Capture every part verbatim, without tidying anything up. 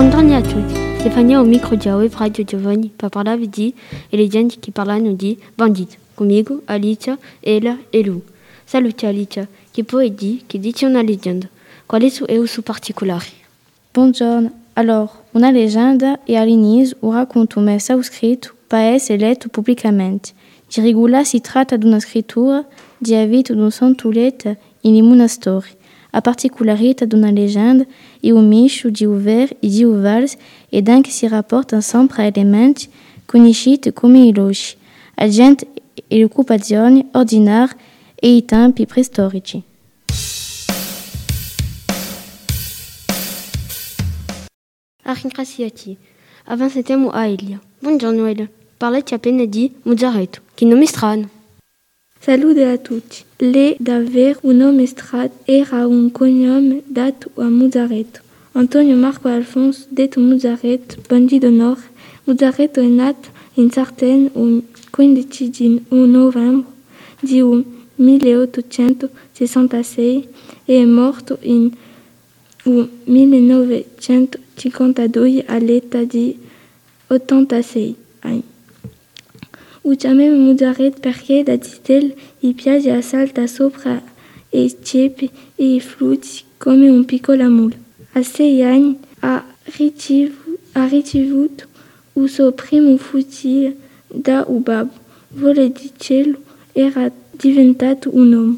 Buongiorno a tutti, Stefania ao micro de Aue Radio Giovanni para falar de e le gente que parlano di bandito. Comigo, Alicia, ela e Lu. Salute Alicia, che puoi dire che dice una leggenda? Qual è o suo particolare? Buongiorno. Alors, una legenda e all'inizio o racconto messa scritto per essere letto pubblicamente. Di regola si tratta di una scrittura di a vita di un santulete in una storia. A particolarità di una leggenda è un misto di un vero e di un falso ed anche si rapporta sempre a elementi conosciuti come i loci, a gente e le occupazioni ordinarie e i tempi preistorici. A ringraziati. Avanziamo a Elia. Buongiorno Elia. Parlate appena di Mozzaretto, che nome strano. Salute a tutti. Le davvero un nome strano era un cognome dato a Mozzaretto. Antonio Marco Alfonso, detto Mozzaretto, bandito d'onore. Mozzaretto è nato in Sardegna il quindici di novembre di milleottocentosessantasei e è morto in millenovecentocinquantadue all'età di ottantasei anni. Lo chiamiamo Mozzaretto perché da Titel gli piace a saltare sopra i ceppi e i flutti come un piccolo mulo. A sei anni ha ricevuto, ha ricevuto il suo primo fucile da un babbo. Vuole di cielo, era diventato un uomo.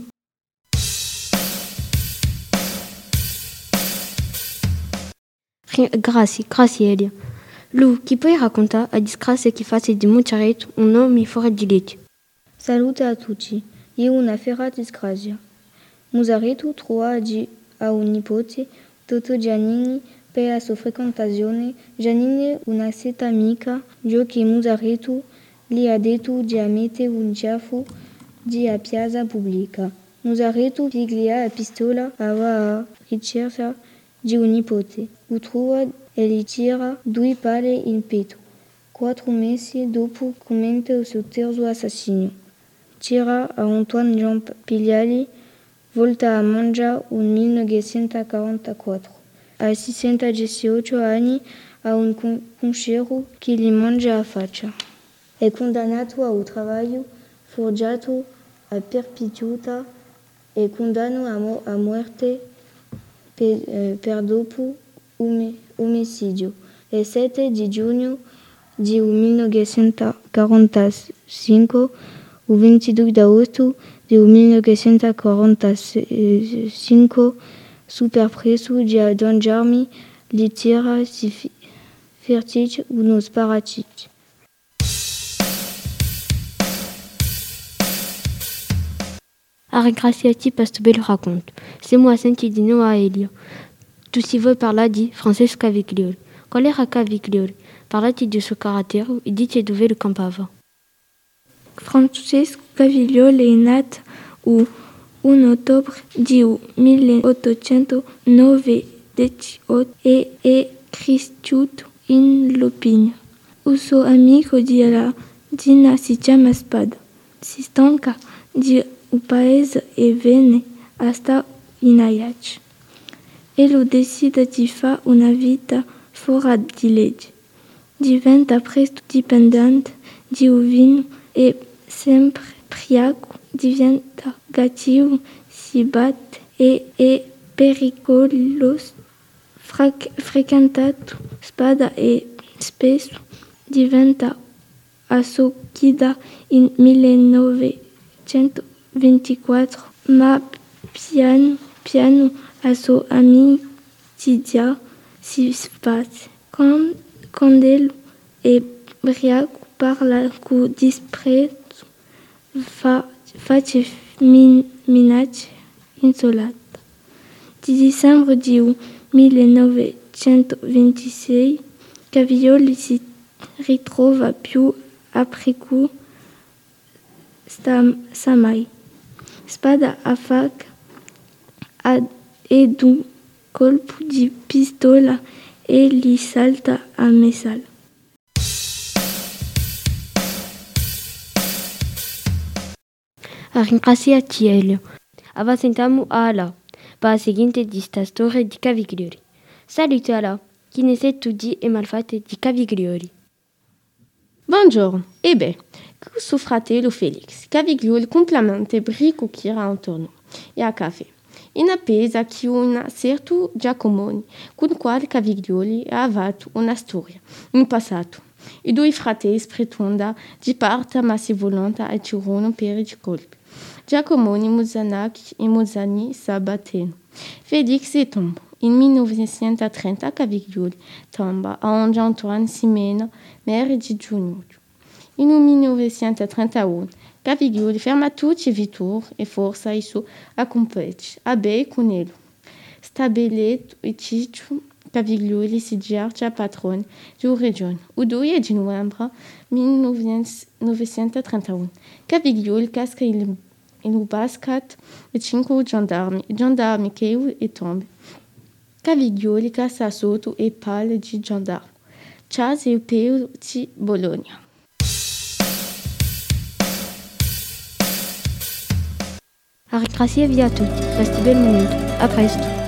Grazie, grazie Elia. Lu, chi puoi raccontare la disgrazia che fa di Mozzaretto un nome fuori di legge? Salute a tutti. È una vera disgrazia. Mozzaretto trova di a un nipote, Toto Giannini, per la sua frequentazione. Giannini, una setta amica, giù che Mozzaretto gli ha detto di mettere un ciaffo di a piazza pubblica. Mozzaretto piglia la pistola alla ricerca di un nipote. Lo trova e gli tira due palle in petto. Quattro mesi dopo commette il suo terzo assassinio. Tira a Antoine Jean Pigliali, volta a mangiare nel millenovecentoquarantaquattro. A sessantadiciotto anni ha un conchero che gli mangia la faccia. È condannato a un lavoro forgiato a perpetuità e condannato a, mo- a morte per, eh, per dopo um- omicidio. Il sette di giugno di millenovecentoquarantacinque, il ventidue d'agosto di millenovecentoquarantacinque, super preso di gendarmi gli tira si fertisce uno sparatutto. A ringraziati per questo bel racconto. Siamo a sentire di nuovo a Elia. Tu si vuoi parlare di Francesco Caviglioli. Qual era Caviglioli? Parlate del suo carattere e dite dove lo campava. Francesco Caviglioli è nato il primo ottobre di milleottocentonovantotto e è cresciuto in Lopigna. Il suo amico di la Dina si chiama Spada. Si stanca di un paese e viene a stare in Ajax. E lo decide di fare una vita fuori di legge. Diventa presto dipendente di un vino e sempre ubriaco, diventa cattivo, si batte e è pericoloso. Fre- frequentato Spada e spesso diventa assoccida in millenovecentoventiquattro, ma piano piano la sua amicizia si sfascia. Quando è ubriaco parla con disprezzo, fa, face min, minacce insolate. Di dicembre di millenovecentoventisei, Caviglioli si ritrova più ubriaco sta mai. Spada a faccia ed un colpo di pistola e gli salta a messala. A ringraziati Elia. Avanziamo a Ala, per la seguente di sta storia di Caviglioli. Salute Ala. chi ne studi e malfate di Caviglioli. Buongiorno, e beh, con suo fratello Felix, Caviglioli completamente brico che era intorno e a caffè. In appesa che un certo Giacomoni, con il quale Caviglioli ha avuto una storia, un passato. I due fratelli pretendono di parte ma si volonta e tirano per i colpi. Giacomoni, Muzanaki e Muzani s'abbattono. Felix e tomba. In millenovecentotrenta Caviglioli tomba onde Antoine Simena, maire di Giugno. In millenovecentotrentatré Caviglioli ferma tutti i vittori e forza i suoi accompagni a bei con lui. Stabilito il Ciccio, Caviglioli si dice patrone della regione. Il due di novembre millenovecentotrentatré Caviglioli casca il, il basket e cinque gendarmi, i gendarmi che e tombe. Caviglioli cassa sotto e palle di gendarme. Chas e il Peo di Bologna. Grazie a tutti, resti bel momento. A presto.